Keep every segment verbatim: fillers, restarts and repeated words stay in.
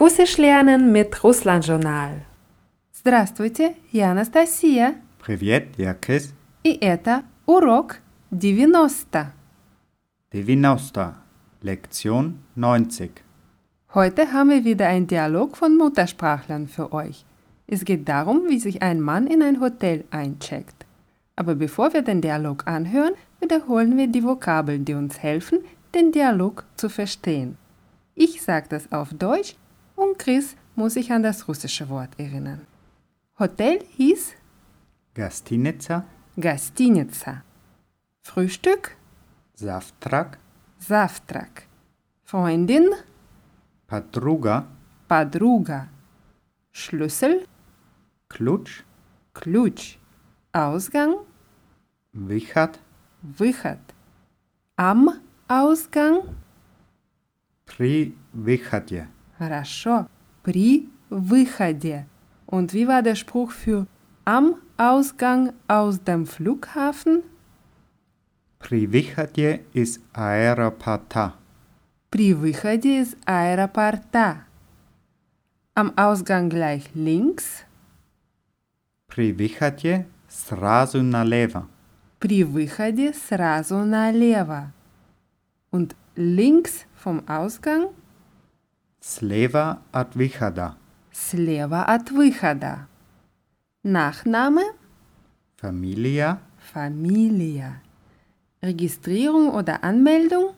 Russisch lernen mit Russland-Journal. Здравствуйте, я Анастасия. Привет, я Крис. И это урок девяносто. девяносто. Lektion neunzig. Heute haben wir wieder einen Dialog von Muttersprachlern für euch. Es geht darum, wie sich ein Mann in ein Hotel eincheckt. Aber bevor wir den Dialog anhören, wiederholen wir die Vokabeln, die uns helfen, den Dialog zu verstehen. Ich sage das auf Deutsch und Chris muss sich an das russische Wort erinnern. Hotel hieß Гостиница. Gastiniца. Frühstück Завтрак. Завтрак. Freundin Подруга. Подруга. Schlüssel Ключ. Ключ. Ausgang Выход. Выход. Am Ausgang При выходе. Хорошо. При выходе. Und wie war der Spruch für am Ausgang aus dem Flughafen? При выходе из аэропорта. При выходе из аэропорта. Am Ausgang gleich links. При выходе сразу налево. При выходе сразу налево. Und links vom Ausgang Слева от выхода. слева от выхода. Nachname Familia. Familia. Registrierung oder Anmeldung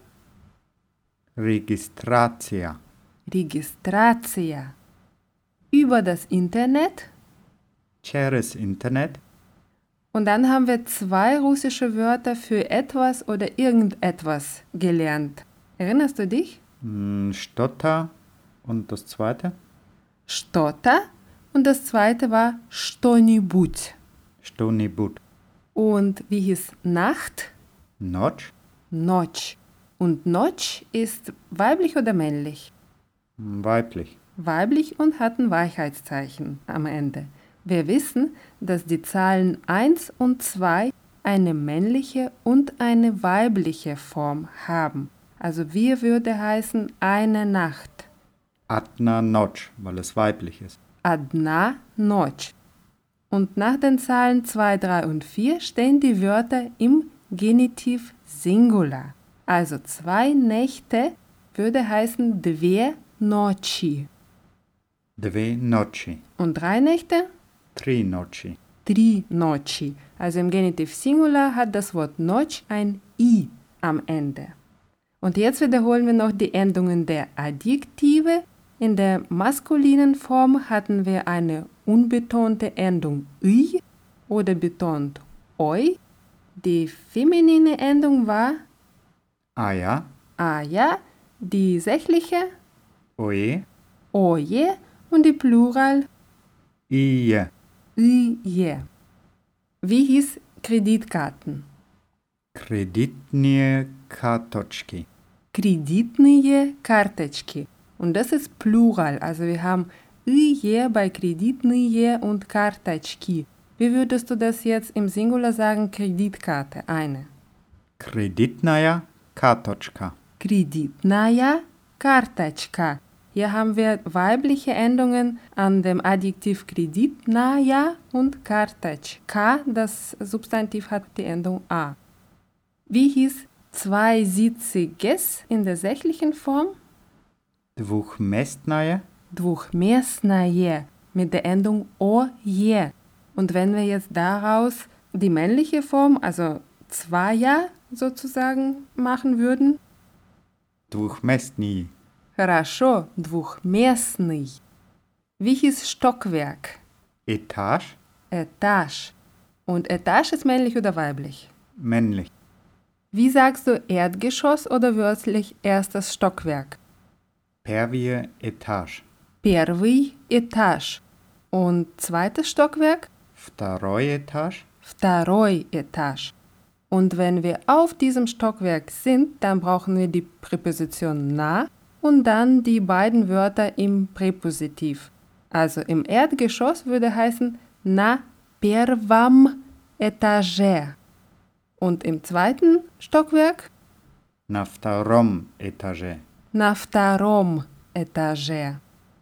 Регистрация. Registratia. Über das Internet. Через интернет. Und dann haben wir zwei russische Wörter für etwas oder irgendetwas gelernt. Erinnerst du dich? М, Что-то. Und das zweite? Что-то. Und das zweite war что-нибудь. Что-нибудь. Und wie hieß Nacht? Ночь. Notch. Und Notch ist weiblich oder männlich? Weiblich. Weiblich und hat ein Weichheitszeichen am Ende. Wir wissen, dass die Zahlen eins und zwei eine männliche und eine weibliche Form haben. Also wie würde heißen eine Nacht? Одна ночь, weil es weiblich ist. Adna Notch. Und nach den Zahlen zwei, drei und vier stehen die Wörter im Genitiv Singular. Also zwei Nächte würde heißen dwie nocci. Две ночи. Und drei Nächte? Три ночи. Tri nocci. Also im Genitiv Singular hat das Wort Notch ein I am Ende. Und jetzt wiederholen wir noch die Endungen der Adjektive. In der maskulinen Form hatten wir eine unbetonte Endung I oder betont oi. Die feminine Endung war Ая. aja, die sächliche Ое. oje und die Plural Ие. ije. Wie hieß Kreditkarten? Кредитные карточки. Kreditные Karteczki. Und das ist Plural. Also wir haben ije bei Kreditные und Karteczki. Wie würdest du das jetzt im Singular sagen? Kreditkarte, eine. Кредитная карточка. Kreditnaya Karteczka. Hier haben wir weibliche Endungen an dem Adjektiv kreditnaya und Karteczka. Das Substantiv hat die Endung a. Wie hieß zweisitziges in der sächlichen Form? Двухместная. Двухместное mit der Endung oje. Und wenn wir jetzt daraus die männliche Form, also zweier sozusagen, machen würden? Двухместный. Хорошо, двухместный. Wie hieß Stockwerk? Etage. Etage. Und Etage ist männlich oder weiblich? Männlich. Wie sagst du Erdgeschoss oder wörtlich erstes Stockwerk? Первый этаж. Первый этаж. Und zweites Stockwerk? Второй этаж. Второй Etage. Und wenn wir auf diesem Stockwerk sind, dann brauchen wir die Präposition na und dann die beiden Wörter im Präpositiv. Also im Erdgeschoss würde heißen na первом этаже. Und im zweiten Stockwerk? На втором этаже. На втором этаже.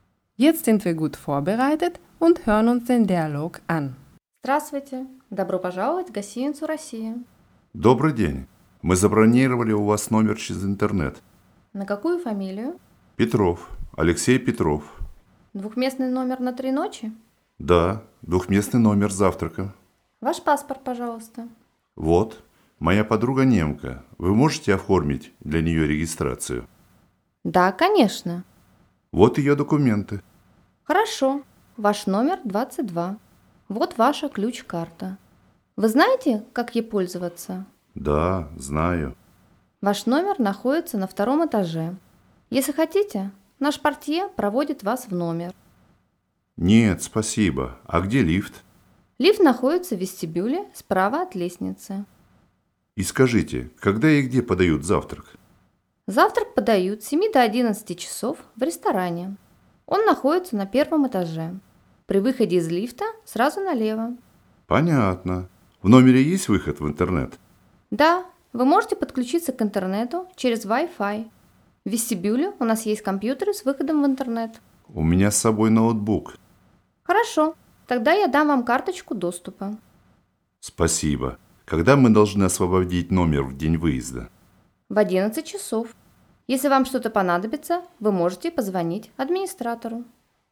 Jetzt sind wir gut vorbereitet und hören uns den Dialog an. Здравствуйте! Добро пожаловать в гостиницу «Россия». Добрый день. Мы забронировали у вас номер через интернет. На какую фамилию? Петров. Алексей Петров. Двухместный номер на три ночи? Да, двухместный номер с завтраком. Ваш паспорт, пожалуйста. Вот, моя подруга немка. Вы можете оформить для нее регистрацию? Да, конечно. Вот ее документы. Хорошо. Ваш номер двадцать два. Вот ваша ключ-карта. Вы знаете, как ей пользоваться? Да, знаю. Ваш номер находится на втором этаже. Если хотите, наш портье проводит вас в номер. Нет, спасибо. А где лифт? Лифт находится в вестибюле справа от лестницы. И скажите, когда и где подают завтрак? Завтрак подают с семи до одиннадцати часов в ресторане. Он находится на первом этаже. При выходе из лифта сразу налево. Понятно. В номере есть выход в интернет? Да, вы можете подключиться к интернету через Wi-Fi. В вестибюле у нас есть компьютеры с выходом в интернет. У меня с собой ноутбук. Хорошо, тогда я дам вам карточку доступа. Спасибо. Когда мы должны освободить номер в день выезда? В одиннадцать часов. Если вам что-то понадобится, вы можете позвонить администратору.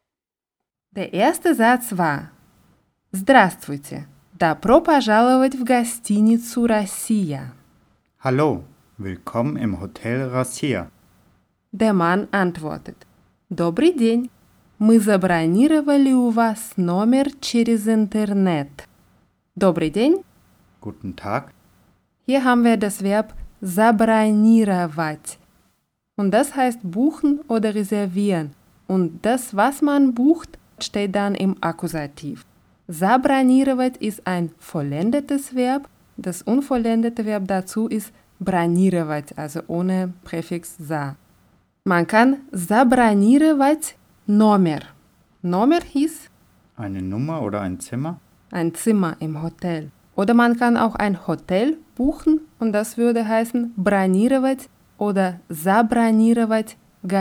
Der erste Satz war: Здравствуйте! Добро пожаловать в гостиницу «Россия». Hallo, willkommen im Hotel Россия. Der Mann antwortet: Добрый день! Мы забронировали у вас номер через интернет. Добрый день! Guten Tag. Hier haben wir das Verb забронировать. Und das heißt buchen oder reservieren. Und das, was man bucht, steht dann im Akkusativ. Забронировать ist ein vollendetes Verb. Das unvollendete Verb dazu ist бронировать, also ohne Präfix «за». Man kann забронировать Номер. Номер hieß Eine Nummer oder ein Zimmer? ein Zimmer im Hotel. Oder man kann auch ein Hotel buchen und das würde heißen бронировать oder забронировать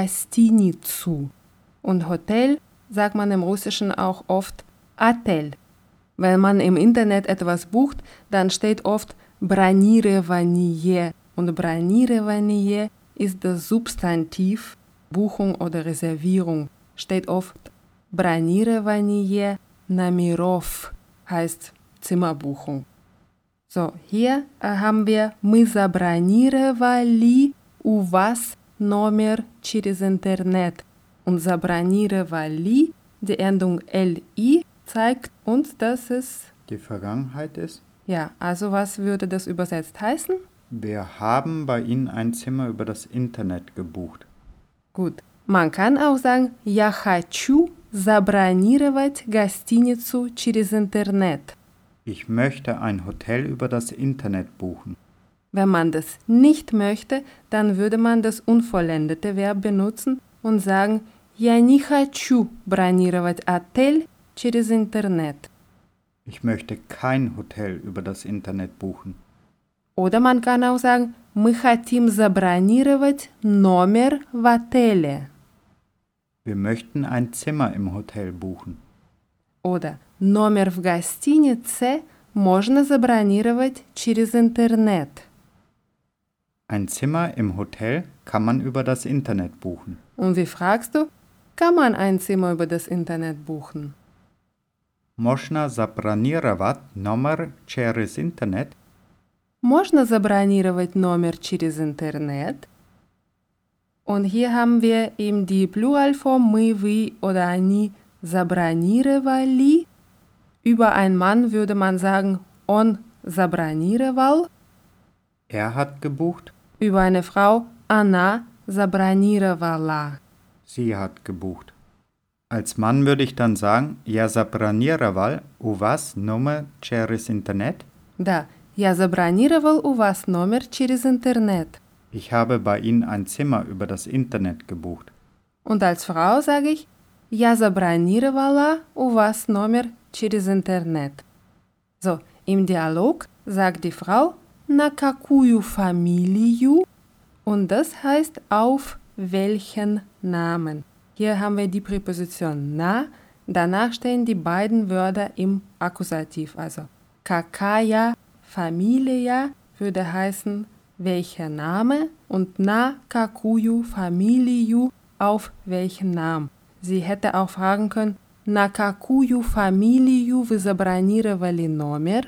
гостиницу. Und Hotel sagt man im Russischen auch oft Отель. Wenn man im Internet etwas bucht, dann steht oft бронирование. Und бронирование ist das Substantiv Buchung oder Reservierung. Steht oft бронирование номеров, heißt Zimmerbuchung. So, hier äh, haben wir мы забронировали у вас номер через интернет. Und забронировали, die Endung li, zeigt uns, dass es... Die Vergangenheit ist? Ja, also was würde das übersetzt heißen? Wir haben bei Ihnen ein Zimmer über das Internet gebucht. Gut. Man kann auch sagen, я хочу забронировать гостиницу через интернет. Ich möchte ein Hotel über das Internet buchen. Wenn man das nicht möchte, dann würde man das unvollendete Verb benutzen und sagen, я не хочу бронировать отель через интернет. Ich möchte kein Hotel über das Internet buchen. Oder man kann auch sagen, мы хотим забронировать номер в отеле. Wir möchten ein Zimmer im Hotel buchen. Oder номер в гостинице можно забронировать через интернет. Ein Zimmer im Hotel kann man über das Internet buchen. Und wie fragst du, kann man ein Zimmer über das Internet buchen? Можно забронировать номер через интернет? Можно забронировать номер через интернет? Und hier haben wir eben die Pluralform мы, вы oder они забронировали. Über einen Mann würde man sagen он забронировал. Er hat gebucht. Über eine Frau она забронировала. Sie hat gebucht. Als Mann würde ich dann sagen, я забронировал у вас номер через интернет. Да, я забронировал у вас номер через интернет. Ich habe bei Ihnen ein Zimmer über das Internet gebucht. Und als Frau sage ich, я забронировала у вас номер через интернет. So, im Dialog sagt die Frau, на какую фамилию? Und das heißt auf welchen Namen. Hier haben wir die Präposition na, danach stehen die beiden Wörter im Akkusativ, also какая фамилия würde heißen, welcher Name und на какую фамилию, auf welchen Namen. Sie hätte auch fragen können, на какую фамилию вы забронировали номер?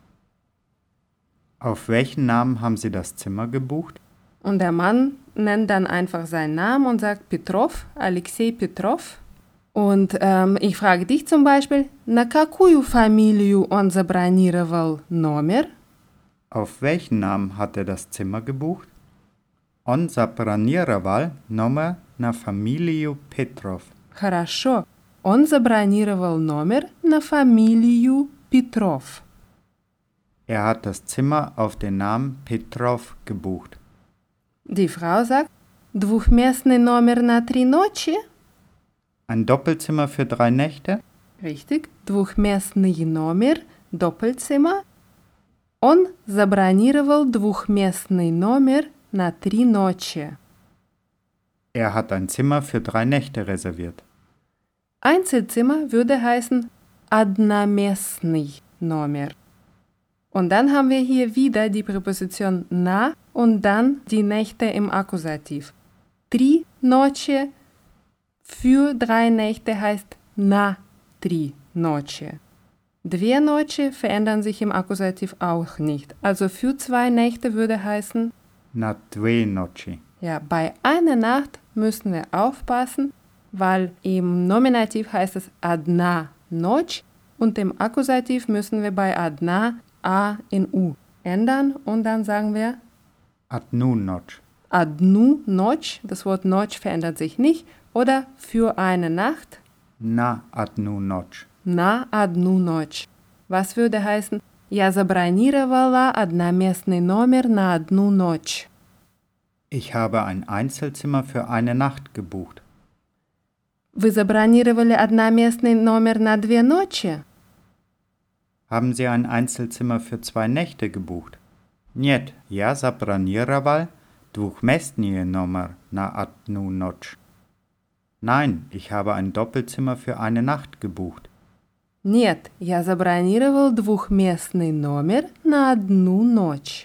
Auf welchen Namen haben Sie das Zimmer gebucht? Und der Mann nennt dann einfach seinen Namen und sagt Petrov, Alexei Petrov. Und ähm, ich frage dich zum Beispiel, на какую фамилию он забронировал номер? Auf welchen Namen hat er das Zimmer gebucht? Он забронировал номер на фамилию Петров. Хорошо. Он забронировал номер на фамилию Петров. Er hat das Zimmer auf den Namen Petrov gebucht. Die Frau sagt, двухместный номер на три ночи? Ein Doppelzimmer für drei Nächte? Richtig, двухместный номер, Doppelzimmer. Он забронировал двухместный номер на три ночи. Er hat ein Zimmer für drei Nächte reserviert. Einzelzimmer würde heißen одноместный номер. Und dann haben wir hier wieder die Präposition на und dann die Nächte im Akkusativ. Три ночи für drei Nächte heißt на три ночи. Две ночи verändern sich im Akkusativ auch nicht. Also für zwei Nächte würde heißen, Na dve noci. ja, bei einer Nacht müssen wir aufpassen, weil im Nominativ heißt es одна ночь und im Akkusativ müssen wir bei одна A in U ändern und dann sagen wir Одну ночь. одну ночь, das Wort ночь verändert sich nicht, oder für eine Nacht, На одну ночь. на одну ночь. Was würde heißen, я забронировала одноместный номер на одну ночь. Ich habe ein Einzelzimmer für eine Nacht gebucht. Вы забронировали одноместный номер на две ночи? Haben Sie ein Einzelzimmer für zwei Nächte gebucht? Нет, я забронировал двухместный номер на одну ночь. Nein, ich habe ein Doppelzimmer für eine Nacht gebucht. Нет, я забронировал двухместный номер на одну ночь.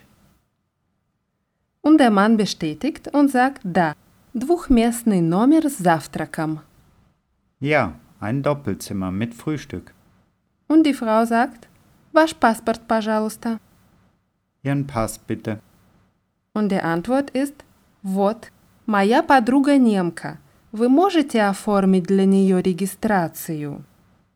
Und der Mann bestätigt und sagt, да, двухместный номер с завтраком. Ja, ein Doppelzimmer mit Frühstück. Und die Frau sagt, ваш паспорт, пожалуйста. Ihren Pass bitte. Und die Antwort ist, вот, моя подруга немка. Вы можете оформить для нее регистрацию?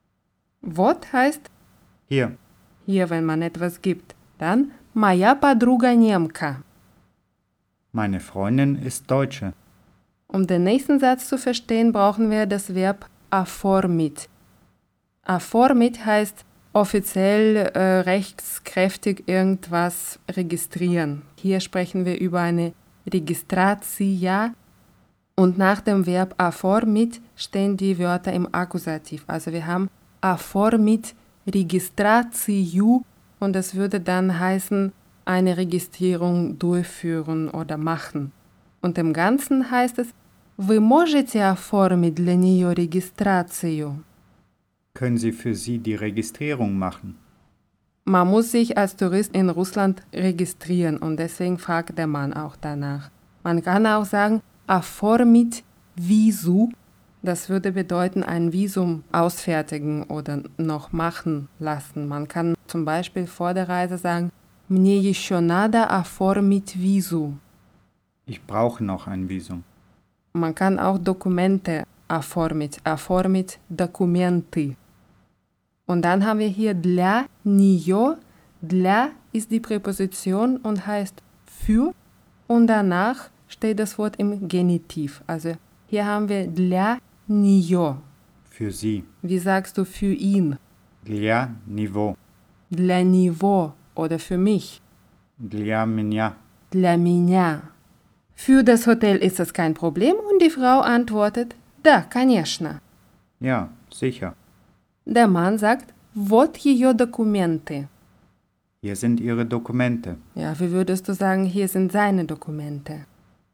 Вот heißt, Hier, hier, wenn man etwas gibt. Dann, моя подруга немка. meine Freundin ist Deutsche. Um den nächsten Satz zu verstehen, brauchen wir das Verb оформить. Оформить heißt offiziell äh, rechtskräftig irgendwas registrieren. Hier sprechen wir über eine Registratia und nach dem Verb оформить stehen die Wörter im Akkusativ. Also wir haben оформить регистрацию und das würde dann heißen, eine Registrierung durchführen oder machen. Und im Ganzen heißt es, вы можете оформить для нее регистрацию? Können Sie für sie die Registrierung machen? Man muss sich als Tourist in Russland registrieren und deswegen fragt der Mann auch danach. Man kann auch sagen, оформить визу. Das würde bedeuten, ein Visum ausfertigen oder noch machen lassen. Man kann zum Beispiel vor der Reise sagen, мне еще надо оформить визу. Ich brauche noch ein Visum. Man kann auch Dokumente оформить, оформить документы. Und dann haben wir hier для нее. Для ist die Präposition und heißt für und danach steht das Wort im Genitiv. Also hier haben wir для нее. Für sie. Wie sagst du für ihn? Для него. Для него oder für mich. Для меня. Для меня. Für das Hotel ist das kein Problem und die Frau antwortet, да, конечно. Ja, sicher. Der Mann sagt, вот ее документы. Hier sind Ihre Dokumente. Ja, wie würdest du sagen, hier sind seine Dokumente?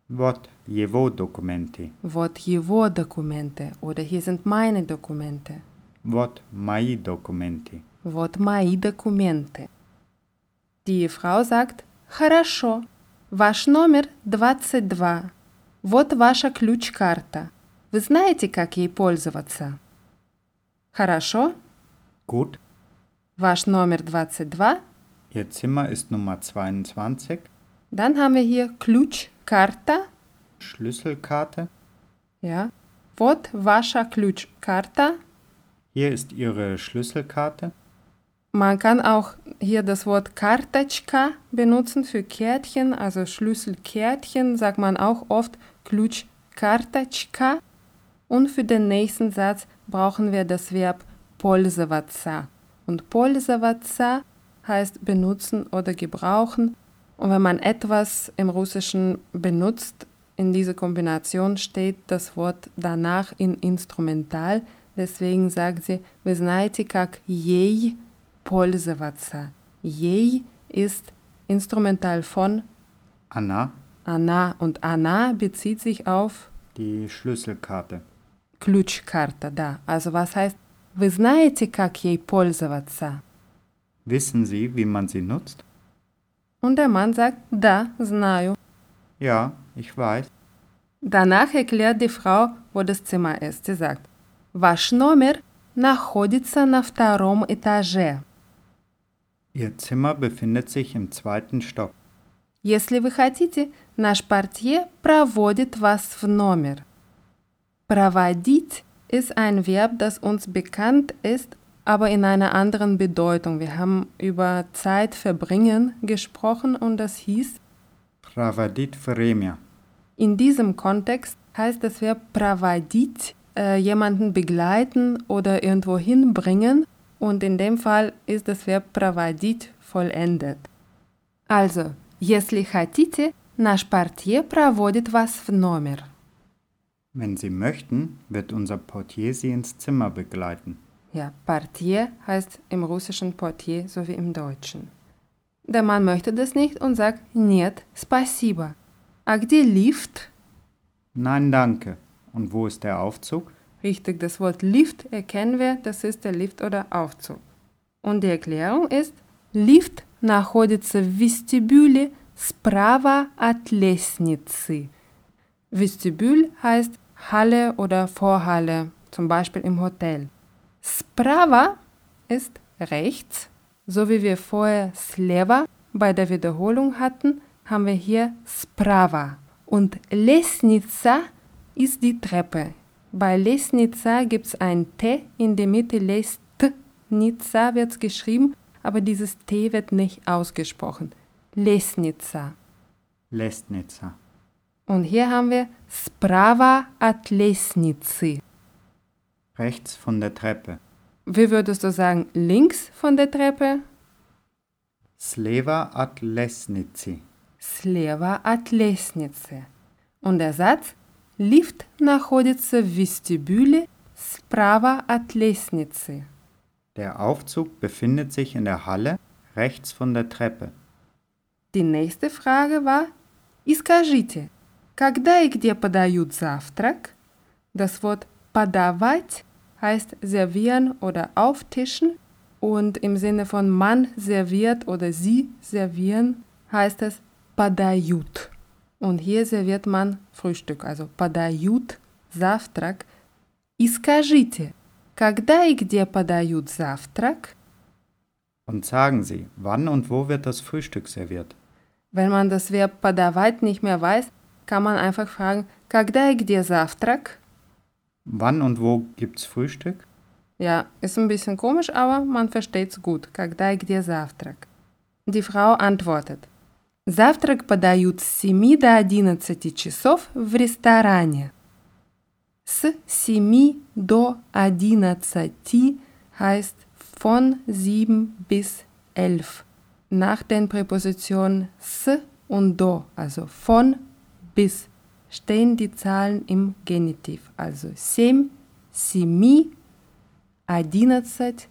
Вот его документы. Вот его Dokumente oder hier sind meine Dokumente. Вот мои документы. Вот мои документы. Die Frau sagt, хорошо, ваш номер двадцать два. Вот ваша ключ-карта. Вы знаете, как ей пользоваться? Хорошо, Gut, ваш номер двадцать два. Ihr Zimmer ist Nummer zweiundzwanzig. Dann haben wir hier ключ-карта. Schlüsselkarte. Ja. Вот ваша ключ-карта. Hier ist Ihre Schlüsselkarte. Man kann auch hier das Wort Карточка benutzen für Kärtchen, also Schlüsselkärtchen, sagt man auch oft ключ-карточка. Und für den nächsten Satz brauchen wir das Verb пользоваться. Und пользоваться heißt benutzen oder gebrauchen. Und wenn man etwas im Russischen benutzt, in dieser Kombination steht das Wort danach in Instrumental. Deswegen sagt sie, вы знаете, как ей пользоваться. Ей ist Instrumental von Anna, Anna und Anna bezieht sich auf die Schlüsselkarte. ключ-карта, да. Also was heißt, вы знаете, как ей пользоваться? Wissen Sie, wie man sie nutzt? Und der Mann sagt, да, знаю. Ja, ich weiß. Danach erklärt die Frau, wo das Zimmer ist. Sie sagt, ваш номер находится на втором этаже. Ihr Zimmer befindet sich im zweiten Stock. Если вы хотите, наш портье проводит вас в номер. Проводить ist ein Verb, das uns bekannt ist, aber in einer anderen Bedeutung. Wir haben über Zeit verbringen gesprochen und das hieß, Проводить время. in diesem Kontext heißt das Verb проводить, äh, jemanden begleiten oder irgendwo hinbringen und in dem Fall ist das Verb проводить vollendet. Also, если хотите, наш портье проводит вас в номер. Wenn Sie möchten, wird unser Portier Sie ins Zimmer begleiten. Ja, Portier heißt im Russischen Portier so wie im Deutschen. Der Mann möchte das nicht und sagt, нет, спасибо. А где Lift? Nein, danke. Und wo ist der Aufzug? Richtig, das Wort Lift erkennen wir, das ist der Lift oder Aufzug. Und die Erklärung ist, Lift находится в вестибюле справа от лестницы. Vestibül heißt Halle oder Vorhalle, zum Beispiel im Hotel. Справа ist rechts, so wie wir vorher слева bei der Wiederholung hatten, haben wir hier справа. Und лестница ist die Treppe. Bei лестница gibt es ein T in der Mitte, лестница wird es geschrieben, aber dieses T wird nicht ausgesprochen. Лестница. Lestnitzer. Und hier haben wir справа от лестницы. Rechts von der Treppe. Wie würdest du sagen, links von der Treppe? Sleva at Lesnici. Слева от лестницы. Und der Satz, Lift находится в вестибюле справа от лестницы. Der Aufzug befindet sich in der Halle rechts von der Treppe. Die nächste Frage war, и скажите, когда и где подают завтрак? Das Wort подавать heißt servieren oder auftischen und im Sinne von man serviert oder sie servieren heißt es подают. Und hier serviert man Frühstück, also подают завтрак. И скажите, когда и где подают завтрак? Und sagen Sie, wann und wo wird das Frühstück serviert? Wenn man das Verb подавать nicht mehr weiß, kann man einfach fragen, когда и где завтрак? Wann und wo gibt's Frühstück? Ja, ist ein bisschen komisch, aber man versteht's gut. Когда и где завтрак? Die Frau antwortet, завтрак подают с семи до одиннадцати часов в ресторане. С семи до одиннадцати heißt von sieben bis elf. Nach den Präpositionen s und do, also von bis, stehen die Zahlen im Genitiv. Also семь, семи, одиннадцать,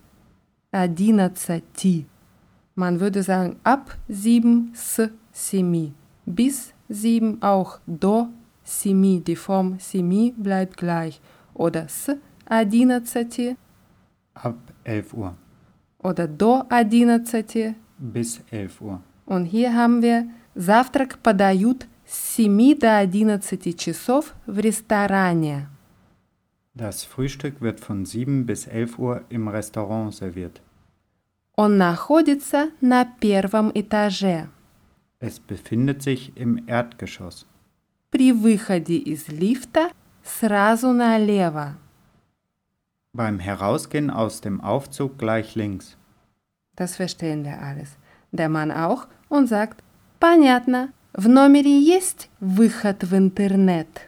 одиннадцати. Man würde sagen ab sieben, s, semi. Bis sieben auch до семи, die Form семи bleibt gleich. Oder с одиннадцати Ab elf Uhr. oder до одиннадцати. Bis elf Uhr. Und hier haben wir завтрак подают с семи до одиннадцати часов в ресторане. Das Frühstück wird von sieben bis elf Uhr im Restaurant serviert. Он находится на первом этаже. Es befindet sich im Erdgeschoss. При выходе из лифта сразу налево. Beim Herausgehen aus dem Aufzug gleich links. Das verstehen wir alles. Der Mann auch und sagt, понятно, в номере есть выход в интернет.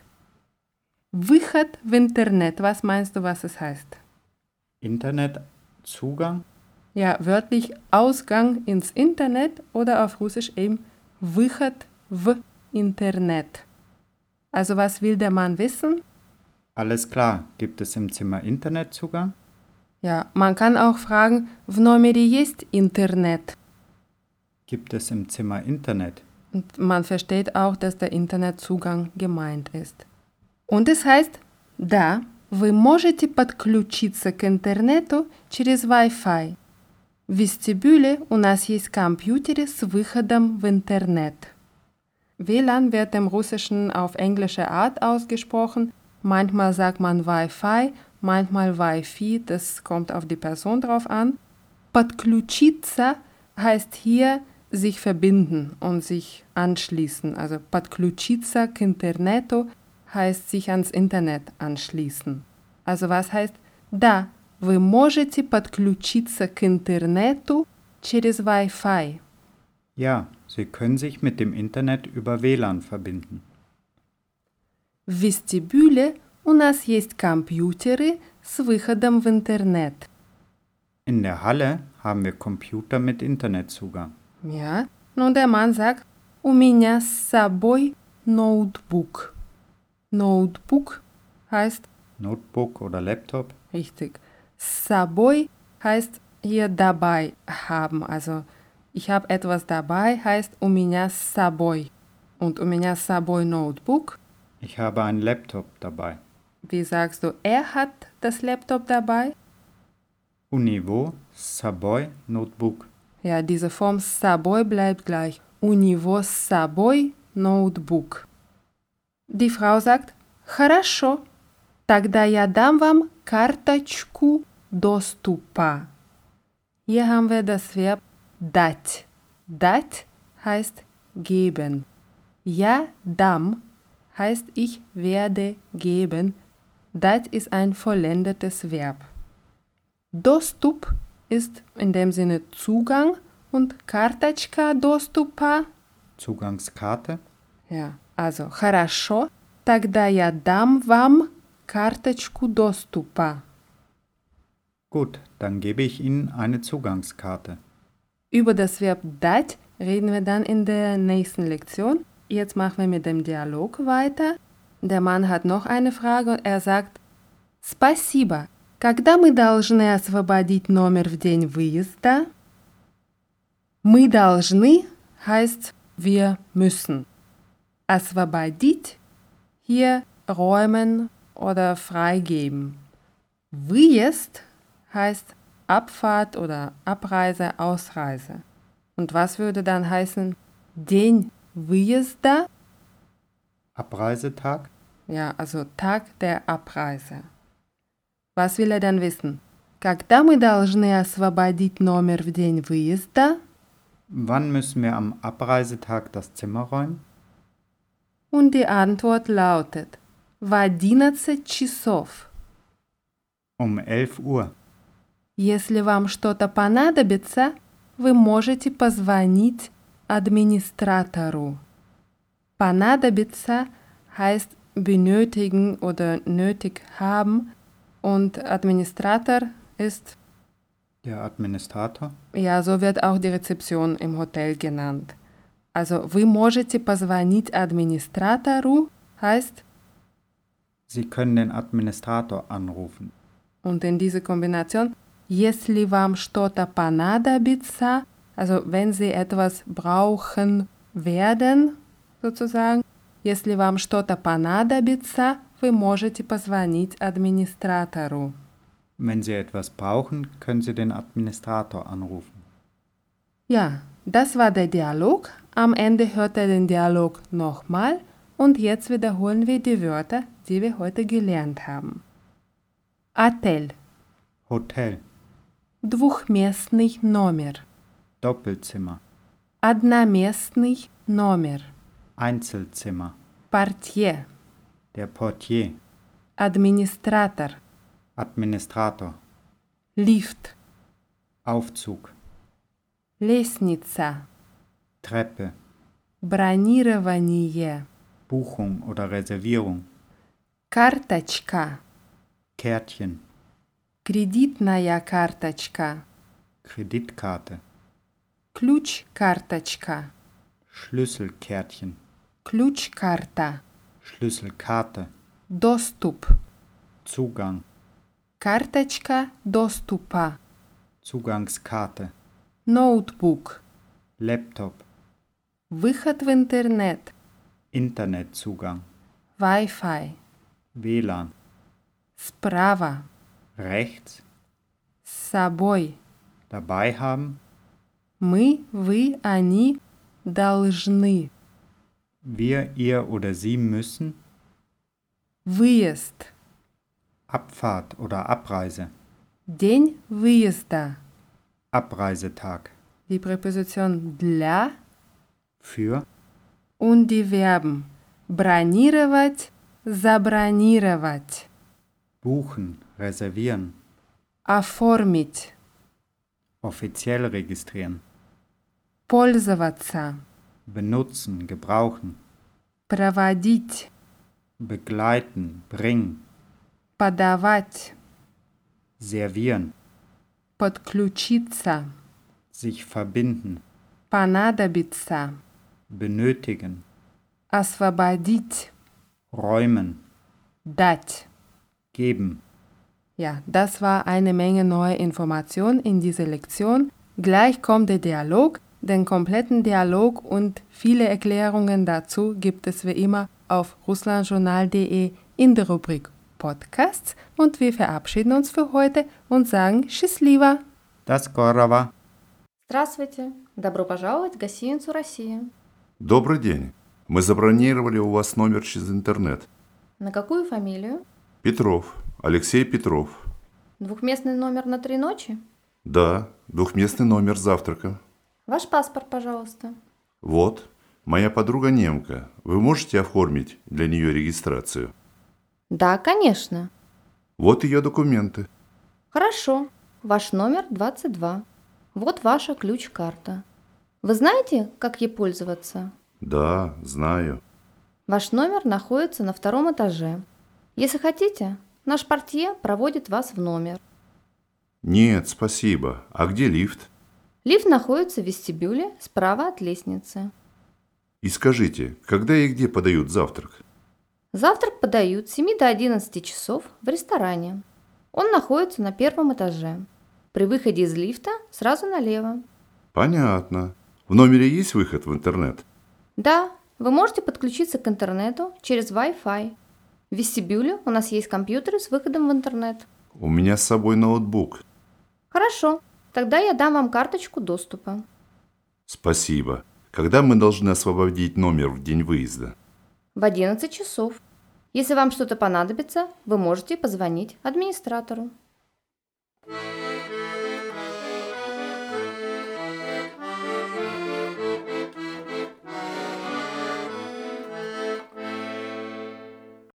Выход в интернет, was meinst du, was es heißt? Internetzugang? Ja, wörtlich Ausgang ins Internet oder auf Russisch eben выход в интернет. Also was will der Mann wissen? Alles klar. Gibt es im Zimmer Internetzugang? Ja, man kann auch fragen, в номере есть интернет. Gibt es im Zimmer Internet? Und man versteht auch, dass der Internetzugang gemeint ist. Und es heißt, да, вы можете подключиться к интернету через Wi-Fi. В вестибюле у нас есть компьютеры с выходом в интернет. W L A N wird im Russischen auf englische Art ausgesprochen. Manchmal sagt man Wi-Fi, manchmal Wi-Fi, das kommt auf die Person drauf an. Подключиться heißt hier sich verbinden und sich anschließen. Also подключиться к интернету heißt sich ans Internet anschließen. Also was heißt, да, вы можете подключиться к интернету через Wi-Fi. Ja, Sie können sich mit dem Internet über W L A N verbinden. В вестибюле у нас есть компьютеры с выходом в интернет. In der Halle haben wir Computer mit Internetzugang. Ja, nun der Mann sagt, у меня с собой ноутбук. Ноутбук heißt, Notebook oder Laptop? richtig, с собой heißt hier dabei haben. Also ich habe etwas dabei heißt у меня с собой. Und у меня с собой ноутбук. Ich habe einen Laptop dabei. Wie sagst du, er hat das Laptop dabei? У него с собой ноутбук. Ja, diese Form с собой bleibt gleich. У него с собой ноутбук. Die Frau sagt, хорошо, тогда я дам вам карточку доступа. Hier haben wir das Verb dать. Dать heißt geben. Я дам heißt ich werde geben. Dать ist ein vollendetes Verb. Доступ ist in dem Sinne Zugang und карточка доступа. Zugangskarte? Ja, also хорошо, тогда я дам вам карточку доступа. Gut, dann gebe ich Ihnen eine Zugangskarte. Über das Verb dать reden wir dann in der nächsten Lektion. Jetzt machen wir mit dem Dialog weiter. Der Mann hat noch eine Frage und er sagt, спасибо. Когда мы должны освободить номер в день выезда? Мы должны heißt wir müssen. Освободить hier räumen oder freigeben. Выезд heißt Abfahrt oder Abreise, Ausreise. Und was würde dann heißen День выезда? Abreisetag? Ja, also Tag der Abreise. Was will er dann wissen? Когда мы должны освободить номер в день выезда? Wann müssen wir am Abreisetag das Zimmer räumen? Und die Antwort lautet в одиннадцать часов. Um elf Uhr. Если вам что-то понадобится, вы можете позвонить администратору. Понадобится heißt benötigen oder nötig haben und Administrator ist, Der Administrator? ja, so wird auch die Rezeption im Hotel genannt. Also вы можете позвонить администратору heißt, Sie können den Administrator anrufen. und in diese Kombination, если вам что-то понадобится, also wenn Sie etwas brauchen werden, sozusagen. Если вам что-то понадобится, вы можете позвонить администратору. Wenn Sie etwas brauchen, können Sie den Administrator anrufen. Ja, das war der Dialog. Am Ende hört ihr den Dialog nochmal und jetzt wiederholen wir die Wörter, die wir heute gelernt haben. Отель. Hotel, Двухместный номер. Doppelzimmer, Одноместный номер. Einzelzimmer, Портье. der Portier, Администратор. Administrator, Лифт. Aufzug, Лестница. Treppe, Бронирование. Buchung oder Reservierung, Карточка. Kärtchen, Кредитная карточка. Kreditkarte, Ключ-карточка. Schlüsselkärtchen, Ключ-карта. Schlüsselkarte, Доступ. Zugang, Карточка доступа. Zugangskarte, Ноутбук. Laptop, Выход в интернет. Internetzugang, Wi-Fi. W L A N, Справа. rechts, С собой. dabei haben, Мы, вы, они должны. wir, ihr oder sie müssen, Выезд. Abfahrt oder Abreise, День выезда. Abreisetag, Die Präposition для für, und die Verben бронировать, забронировать, buchen, reservieren, оформить, offiziell registrieren, пользоваться, benutzen, gebrauchen, проводить, begleiten, bringen, подавать, servieren, подключиться, sich verbinden, понадобиться, benötigen, освободить, räumen, дать. geben. Ja, das war eine Menge neue Informationen in dieser Lektion. Gleich kommt der Dialog. Den kompletten Dialog und viele Erklärungen dazu gibt es wie immer auf russlandjournal punkt de in der Rubrik Podcasts. Und wir verabschieden uns für heute und sagen Счастливо! До скорого! Здравствуйте! Добро пожаловать в гостиницу «Россия». Добрый день. Мы забронировали у вас номер через интернет. На какую фамилию? Петров. Алексей Петров. Двухместный номер на три ночи? Да, двухместный номер с завтраком. Ваш паспорт, пожалуйста. Вот. Моя подруга немка. Вы можете оформить для нее регистрацию? Да, конечно. Вот ее документы. Хорошо. Ваш номер двадцать два. Вот ваша ключ-карта. Вы знаете, как ей пользоваться? Да, знаю. Ваш номер находится на втором этаже. Если хотите, наш портье проводит вас в номер. Нет, спасибо. А где лифт? Лифт находится в вестибюле справа от лестницы. И скажите, когда и где подают завтрак? Завтрак подают с семи до одиннадцати часов в ресторане. Он находится на первом этаже. При выходе из лифта сразу налево. Понятно. В номере есть выход в интернет? Да, вы можете подключиться к интернету через Wi-Fi. В вестибюле у нас есть компьютеры с выходом в интернет. У меня с собой ноутбук. Хорошо, тогда я дам вам карточку доступа. Спасибо. Когда мы должны освободить номер в день выезда? В одиннадцать часов. Если вам что-то понадобится, вы можете позвонить администратору.